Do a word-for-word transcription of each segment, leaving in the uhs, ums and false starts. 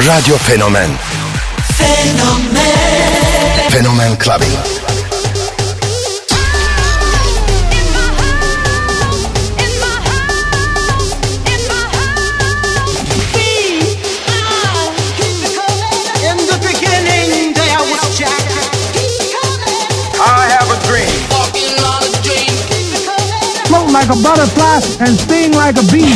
Radyo Fenomen. Fenomen. Fenomen Clubbing. Like a butterfly and sting like a bee.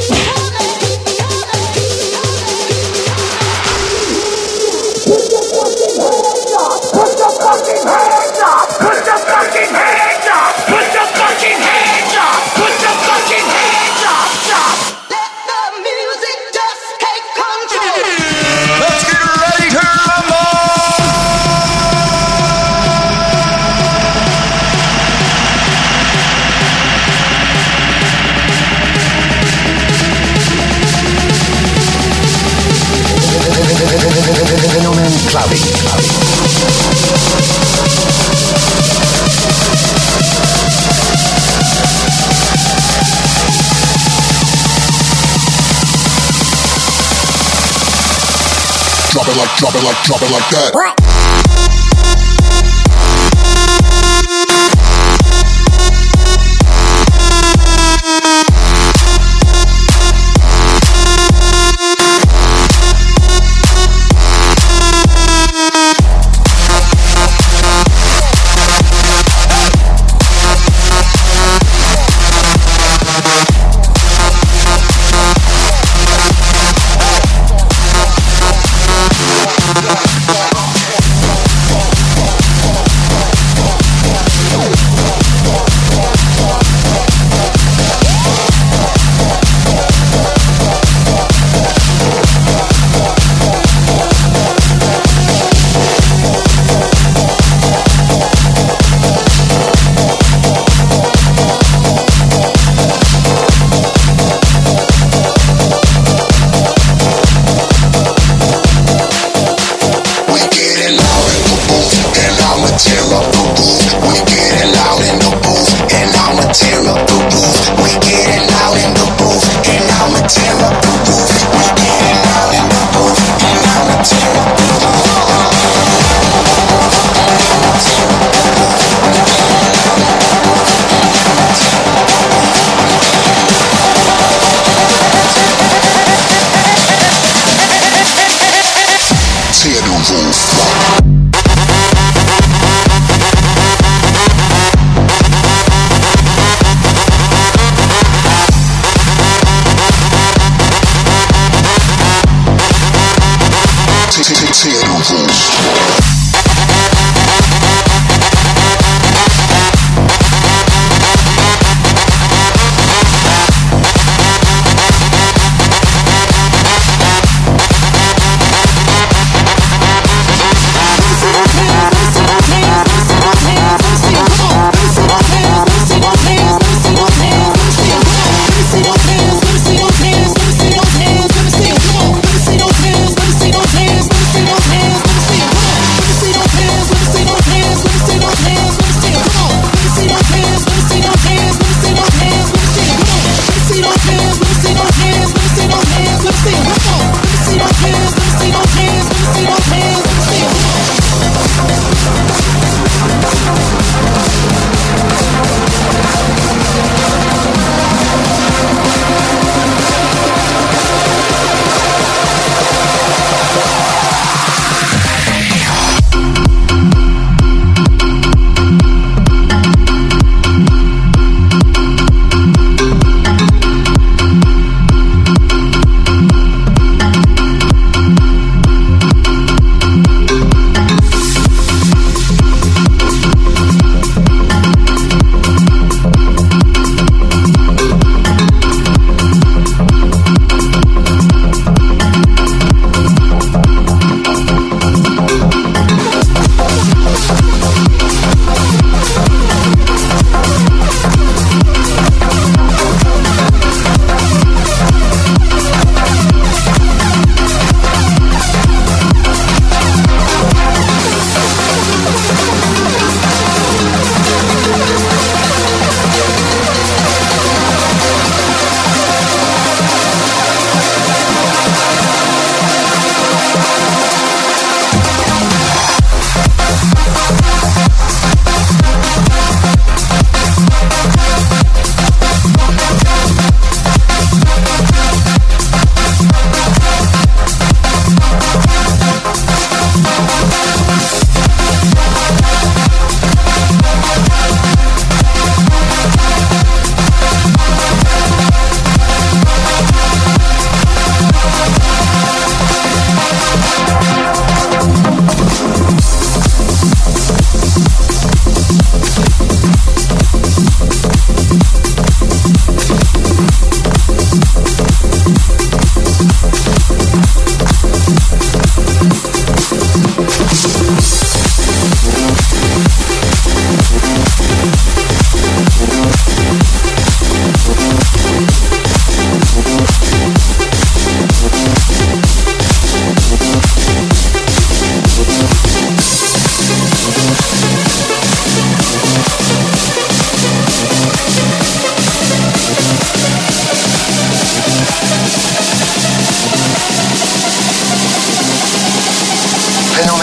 Clubbing. Drop it like, drop it like, drop it like that.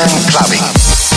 Fenomen Clubbing.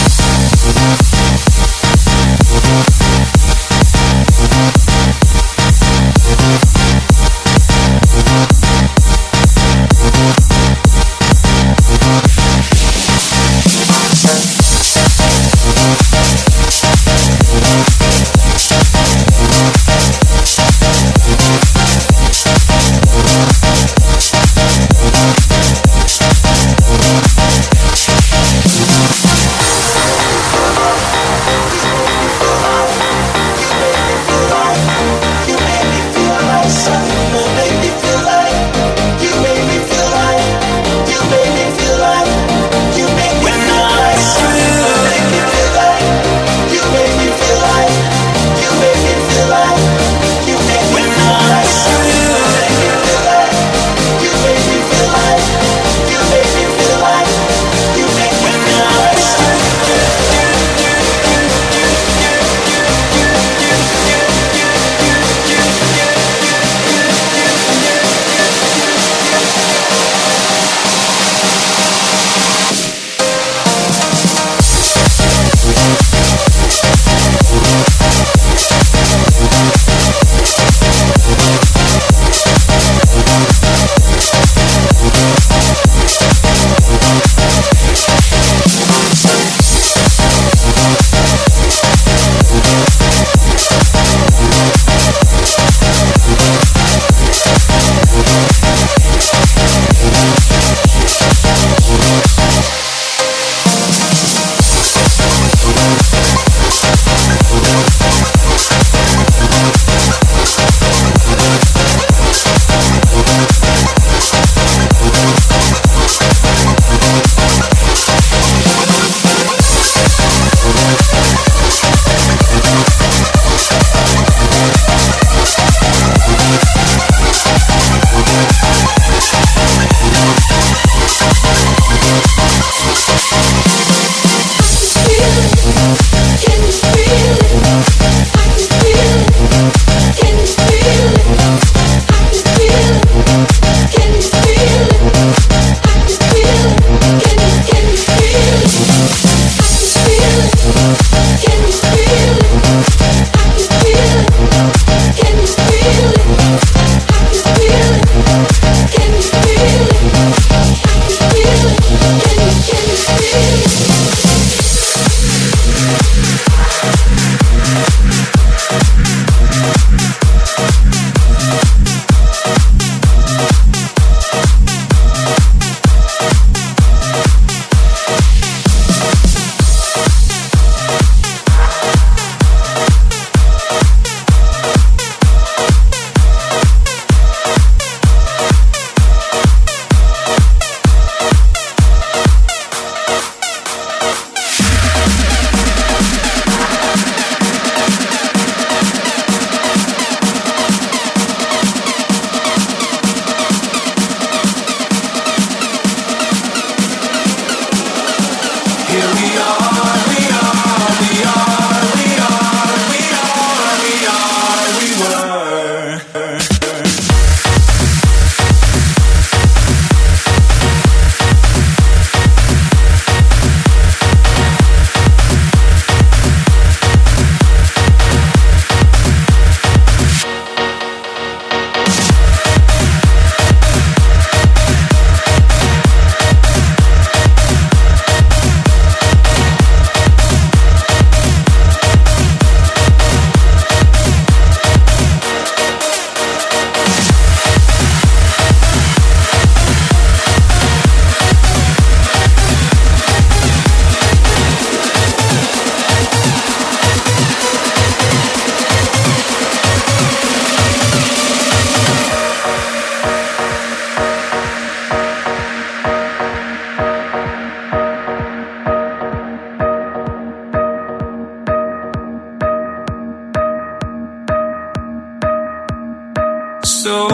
So,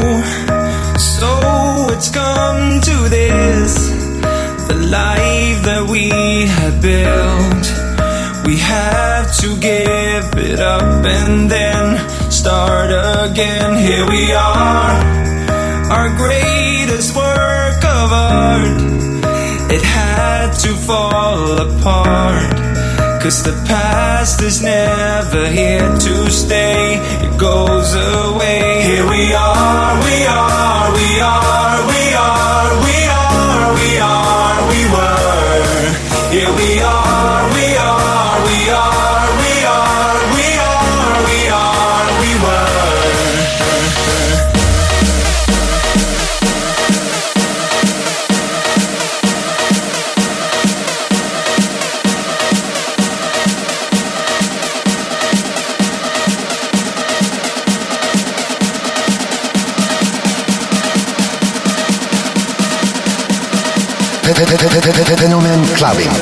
so it's come to this, the life that we had built. We have to give it up and then start again. Here we are, our greatest work of art. It had to fall apart. 'Cause the past is never here to stay, it goes away. Here we are, we are, we are, we are, we are, we are, we were. Here we are, we are, we are, we are, we are, we are, we were. Fenomen Clubbing.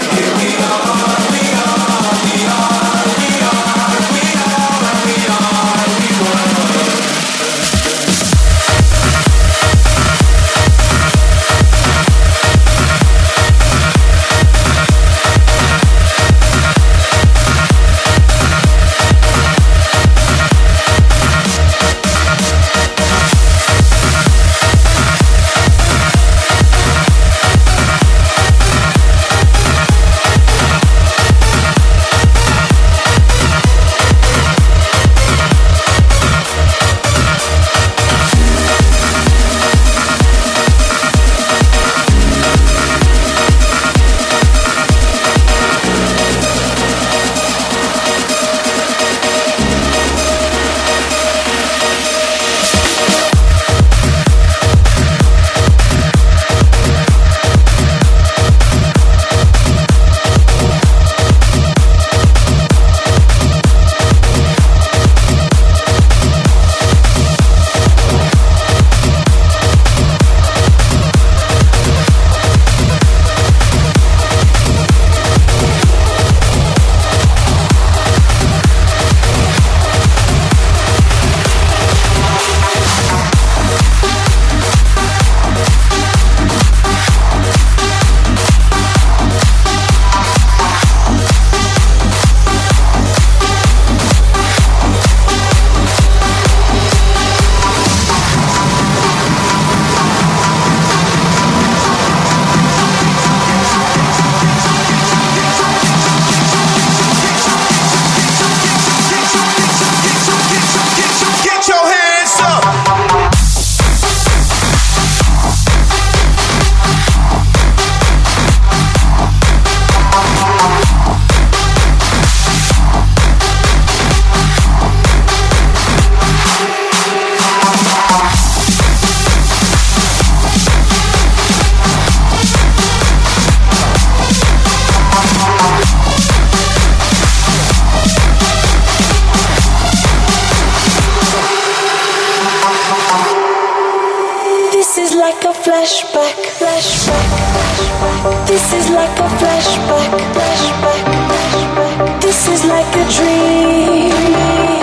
Flashback, flashback, flashback. This is like a flashback, flashback, flashback. This is like a dream.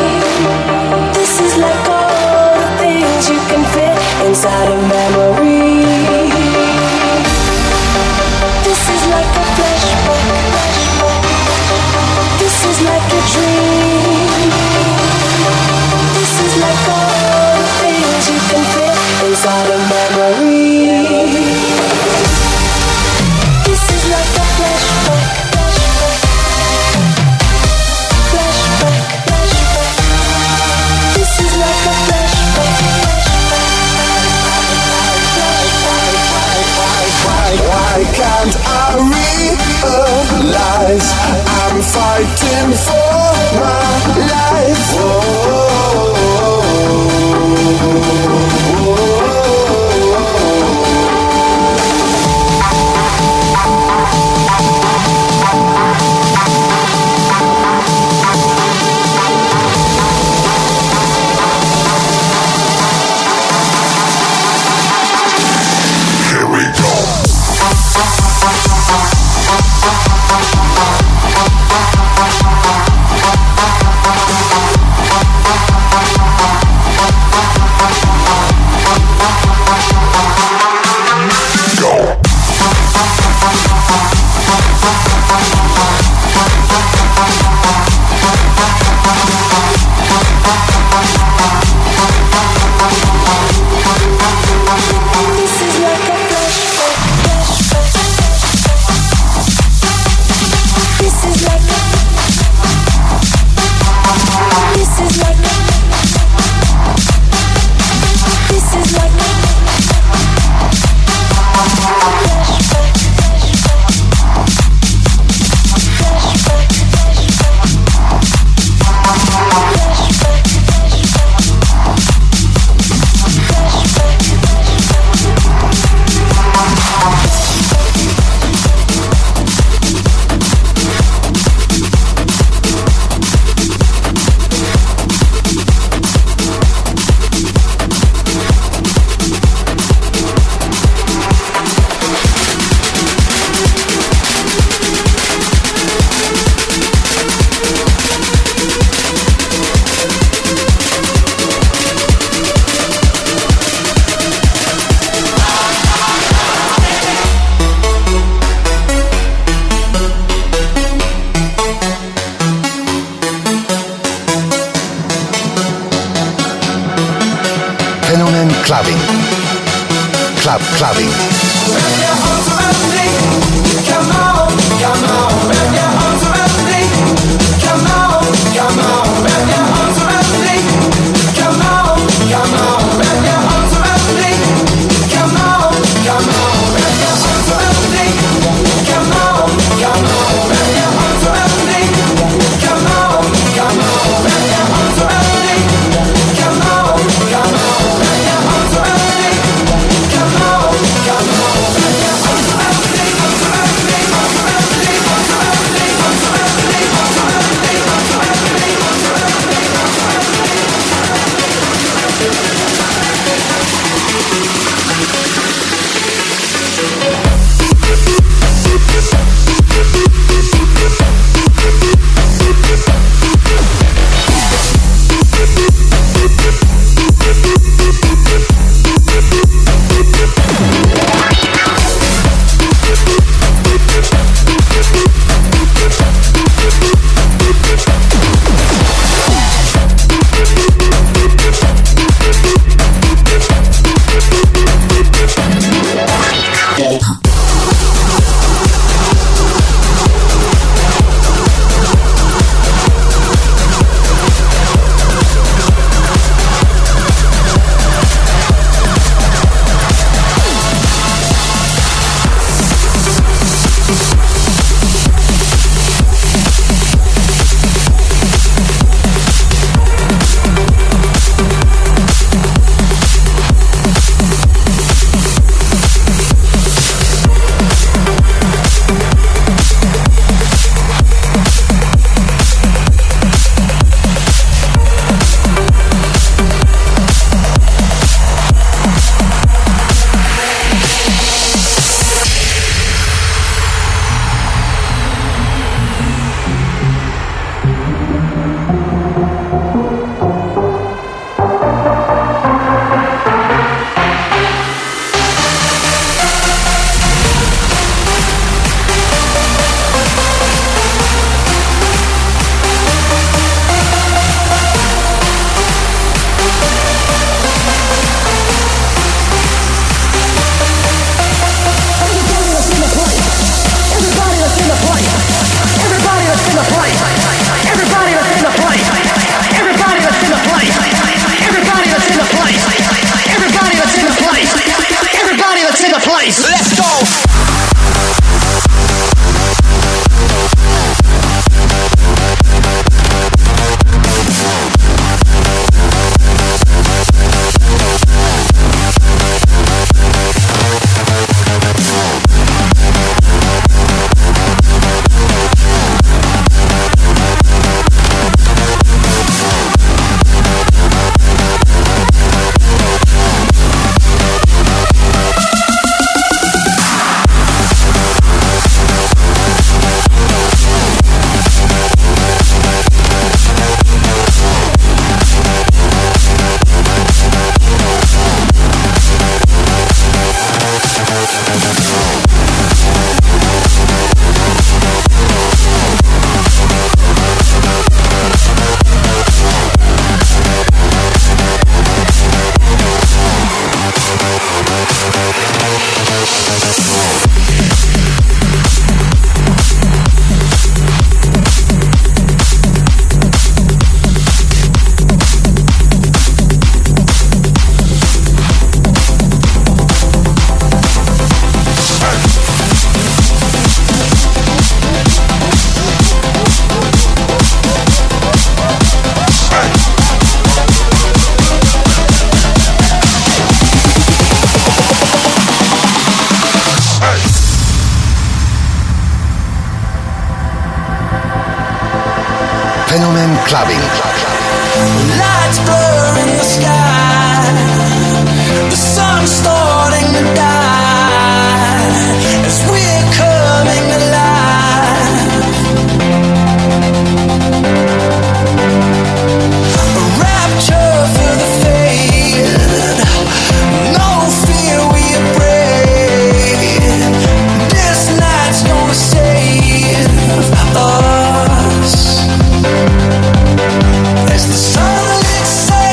This is like all the things you can fit inside a memory. This is like a flashback, flashback. This is like a dream. This is like all the things you can fit inside a memory. This is like a flashback, flashback, flashback, flashback. This is like a flashback, flashback. Why can't I realize I'm fighting for my life? Whoa. We'll be right back. clubbing. Club clubbing. Wrap your arms around me. Come on, come on. Wrap your arms around me. Come on, come on. Wrap your arms around me. Come on, come on. Wrap your arms around me. Come on, come on. Wrap your arms around me. Come on, come on. Wrap your arms around me. Come on, come on. Wrap your arms around me. Come on, come on. Wrap your arms around me. Come on, come on. Wrap your arms around me. Arms around me. Arms around me. Arms around me. Arms around me. Arms around me. Arms around me. Arms around me. Arms around Fenomen Clubbing. Lights blur in the sky. The sun's starting to die as we're coming alive. A rapture for the faded. No fear, we are brave. This night's gonna save us. As the sun licks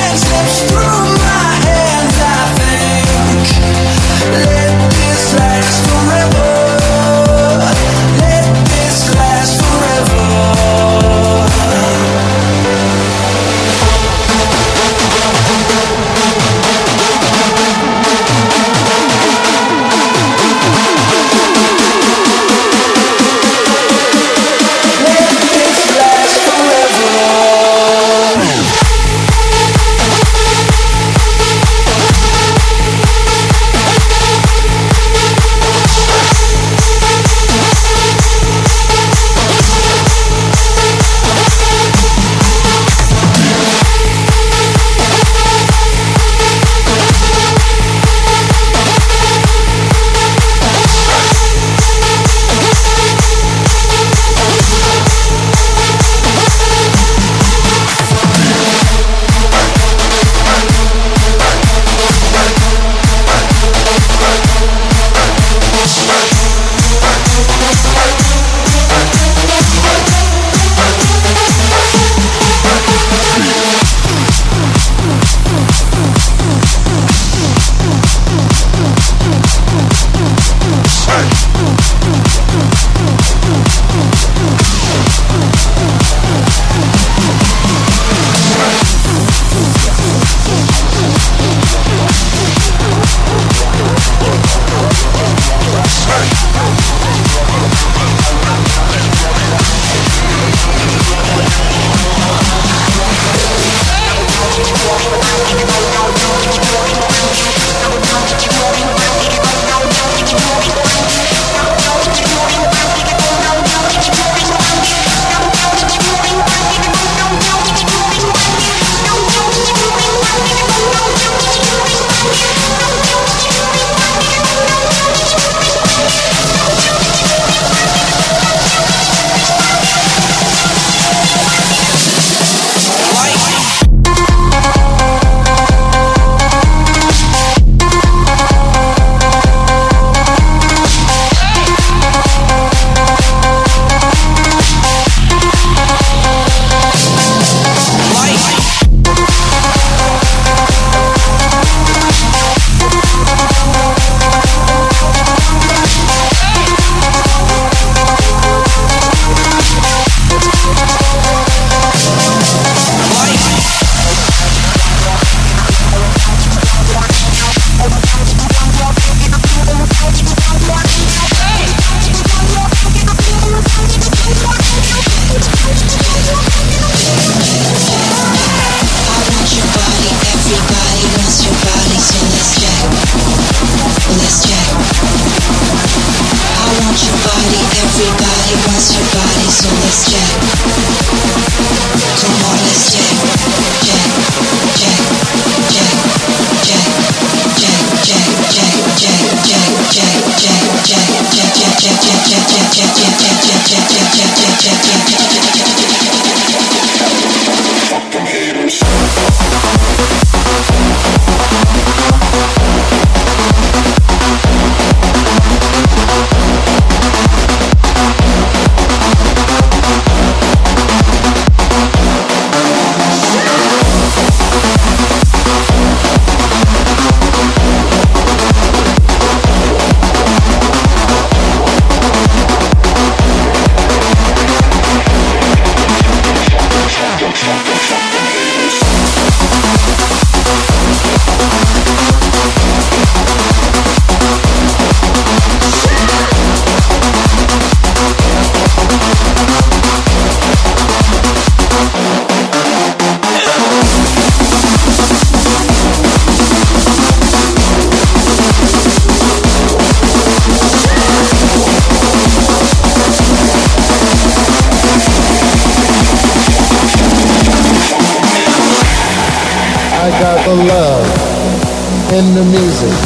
in the music.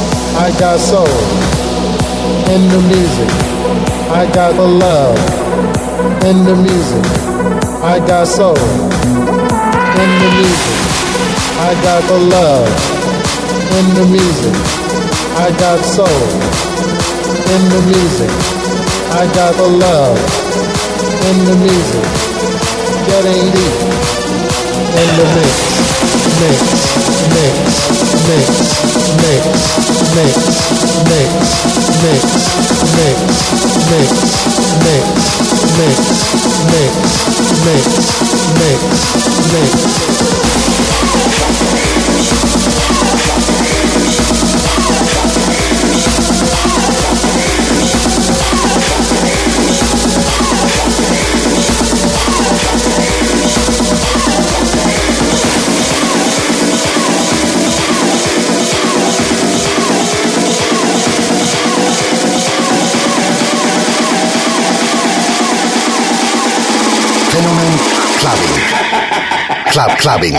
I got soul in the music. I got the love in the music. I got soul in the music. I got the love in the music. I got soul in the music. I got the love in the music. Getting deep in the mix. Mix, mix, mix, mix, mix, mix, mix, mix, mix, mix, mix, mix, mix, mix, Fenomen Clubbing. Club Clubbing.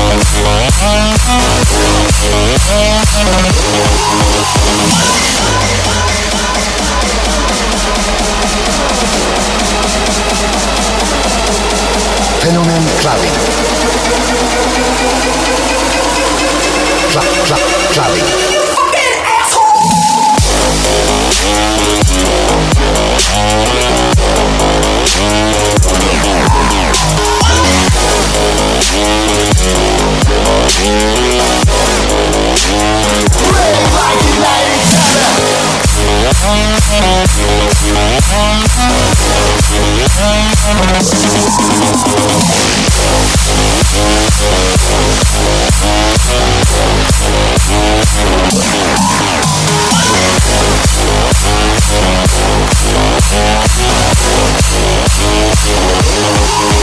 Fenomen Clubbing. Club, club, clubbing. We'll be right back.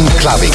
Phenomen Clubbing.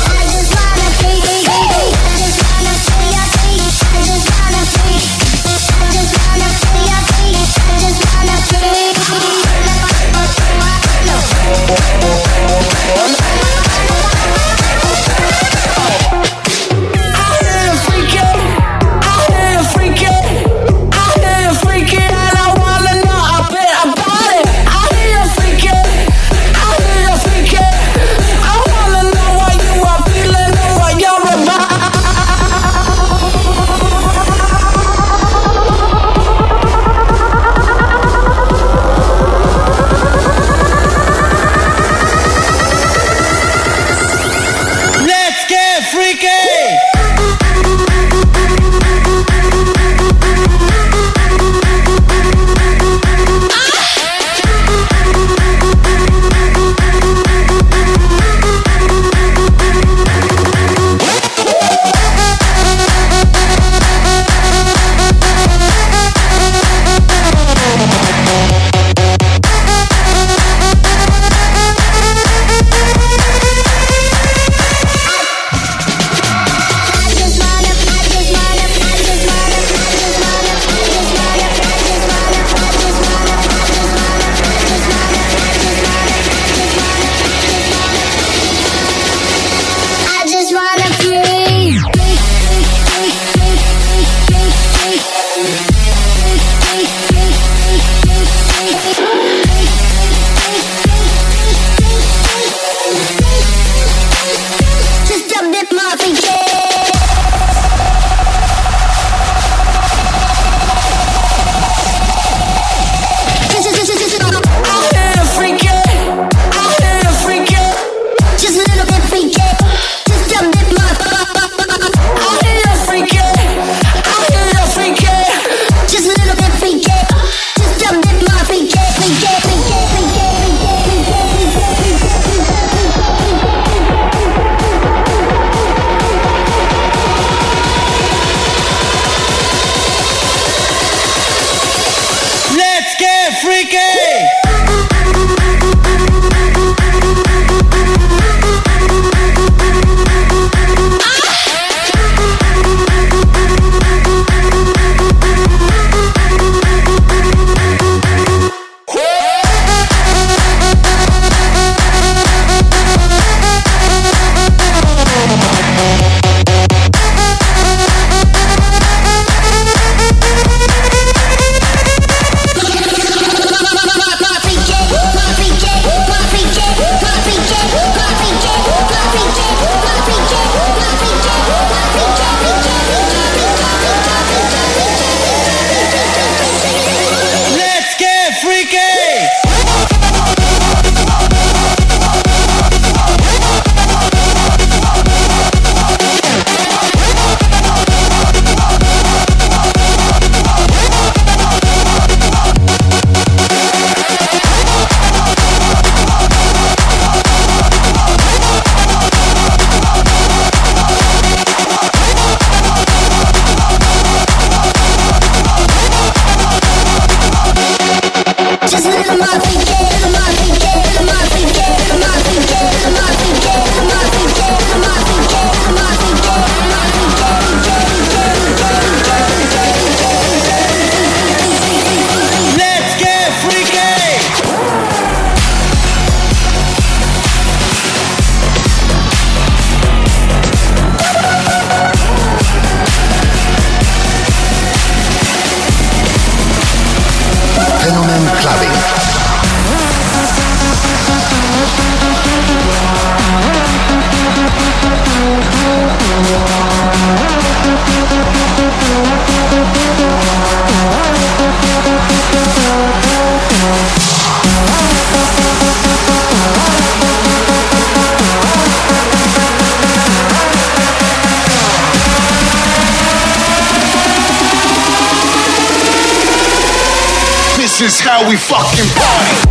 This is how we fucking party.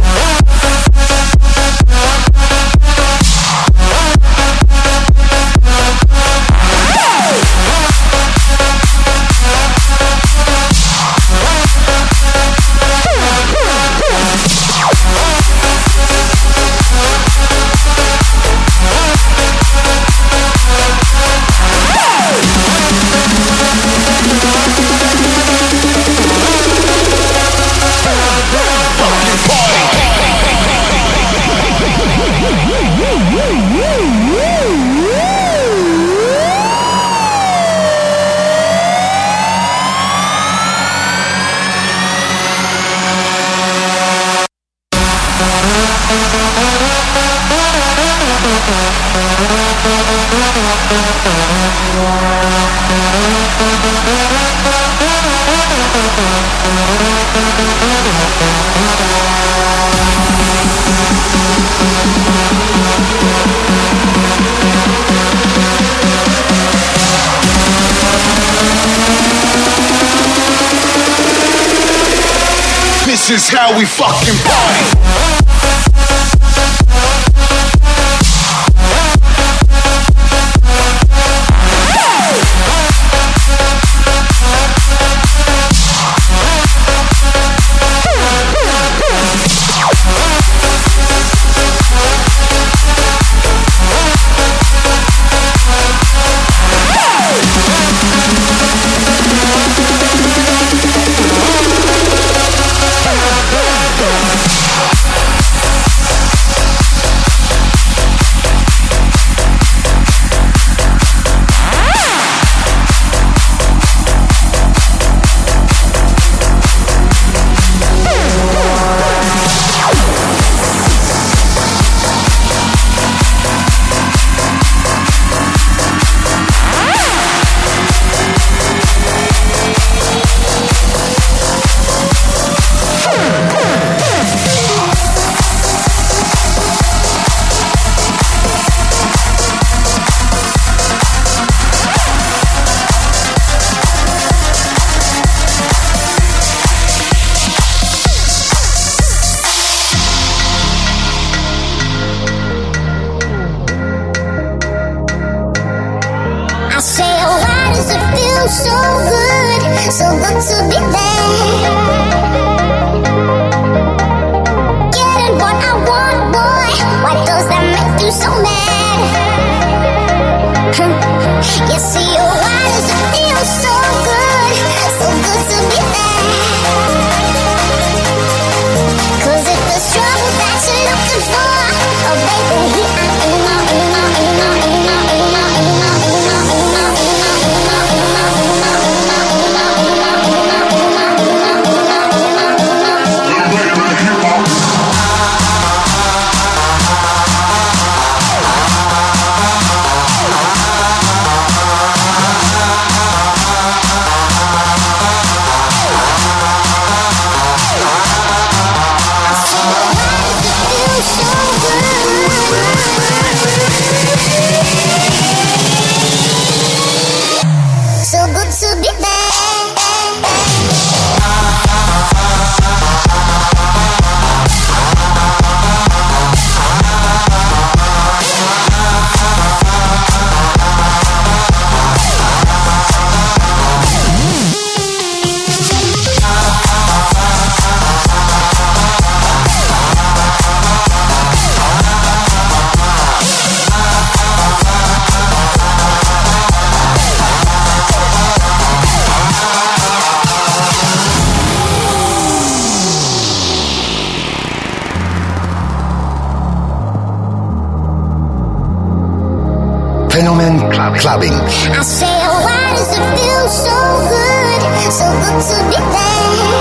This is how we fucking party. Fenomen Clubbing. I say, why does it feel so good, so good to be there?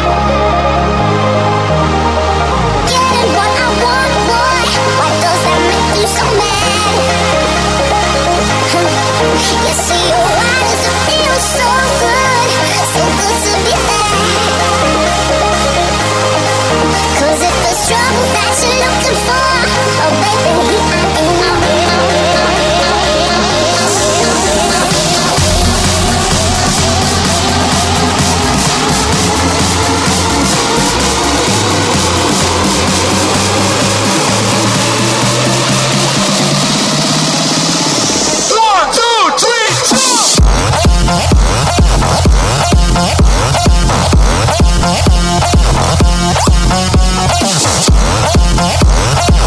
Getting what I want, boy, why does that make you so mad? You see, why does it feel so good, so good to be there? Cause if the struggle that you're looking for, oh baby, I ain't no, We'll be right back.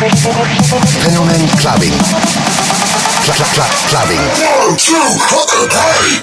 Phenomen Clubbing. Cl- cl- cl- clubbing. One, two, hey!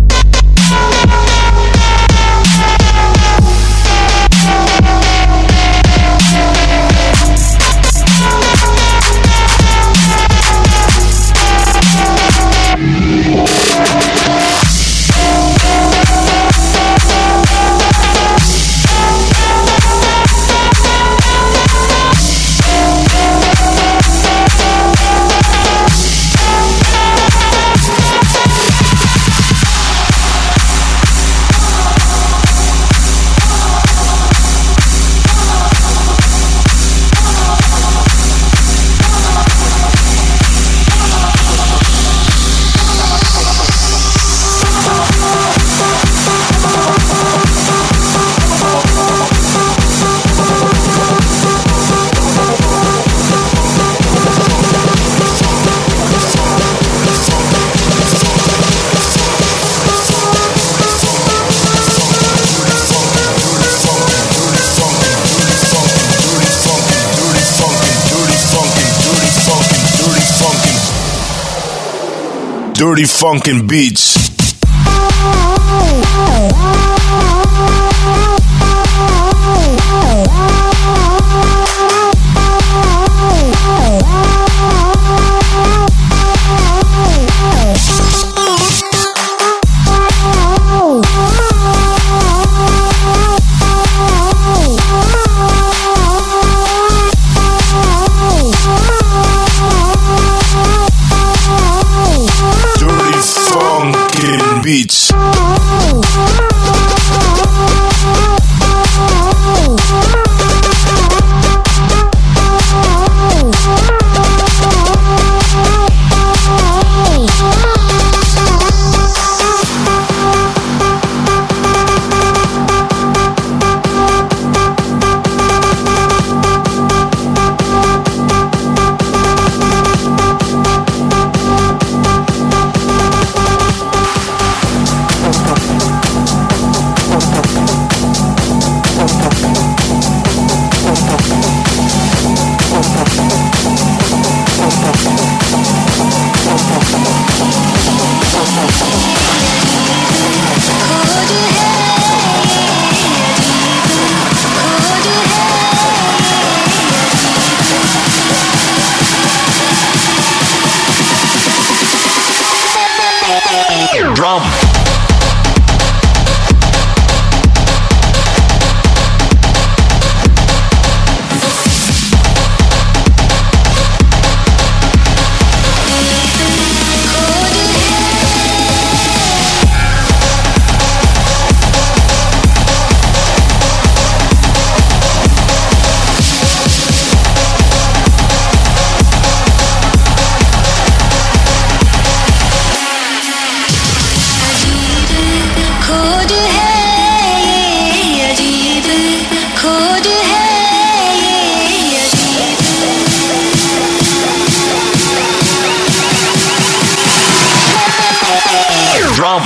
Dirty funkin' beats. Beats. Drum. Drum.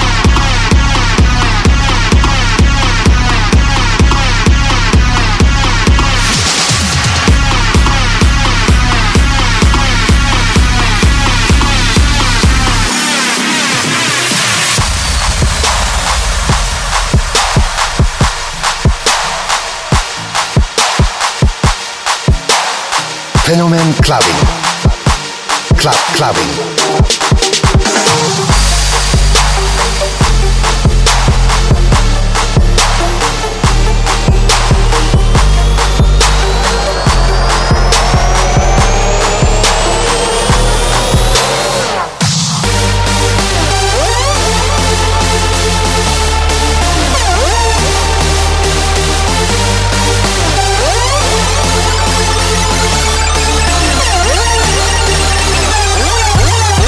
Phenomen Clubbing. Club Clubbing. We'll be right back.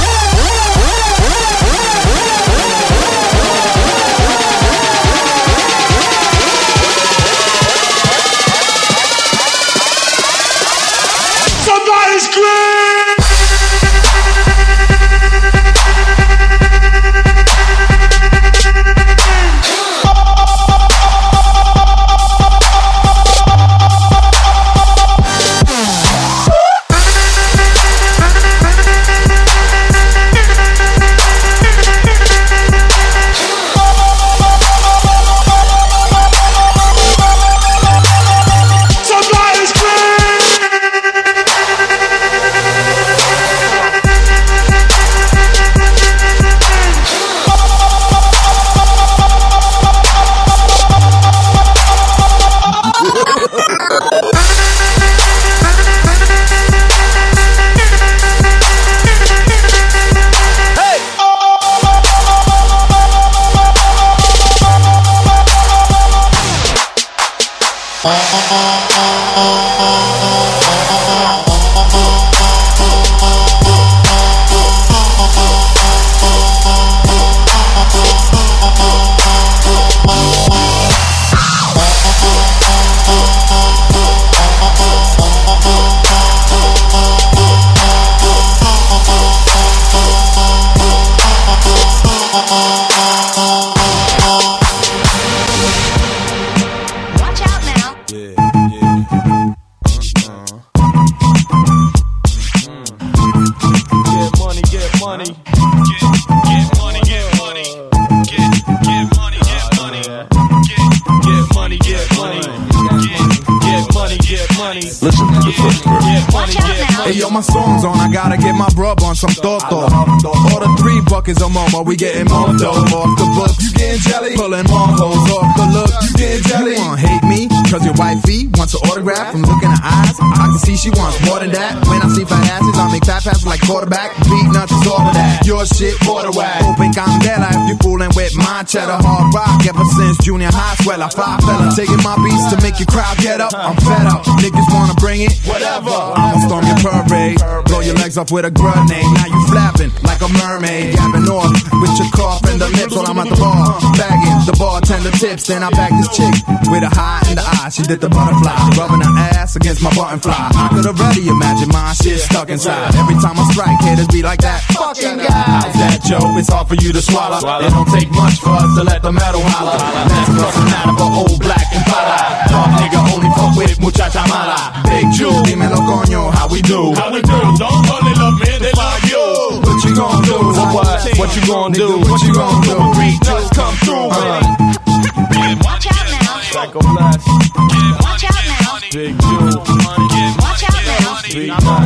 Listen to the first verse. Hey yo, my song's on, I gotta get my brub on some toto. Order three buckets of momo, we getting more dough. Off the books, you getting jelly? Pulling more hoes off the look, you getting jelly? You wanna hate me, cause your wifey wants an autograph from looking her eyes. I can see she wants more than that. When I see fat asses, I make fat passes like quarterback. Beat nuts is all of that. Your shit, water whack. Open candela if you fooling with my cheddar. Hard rock ever since junior high. Swell, I five fella. Taking my beats to make your crowd get up. I'm fed up. Niggas wanna bring it, whatever. I'ma storm your parade, blow your legs off with a grenade. Now you flapping like a mermaid, yapping off with your cough and the lips while I'm at the bar, bagging the bartender tips. Then I bag this chick with a high in the eye. She did the butterfly, rubbing her ass against my button fly. I could already imagine my shit stuck inside. Every time I strike, haters be like that fucking guy. How's that, Joe? It's hard for you to swallow. It don't take much for us to let the metal holler. That's personality for old black and pala. Talk nigga only fuck with muchacha mala. Big Jew, dímelo coño, how we do? How we do? Don't only love me, they love you. What you gon' do? What? What you gon' do? What you gon' do? Read just come through. Watch out now. Psycho Blast. Watch out now. Big Jew. Watch out now. Big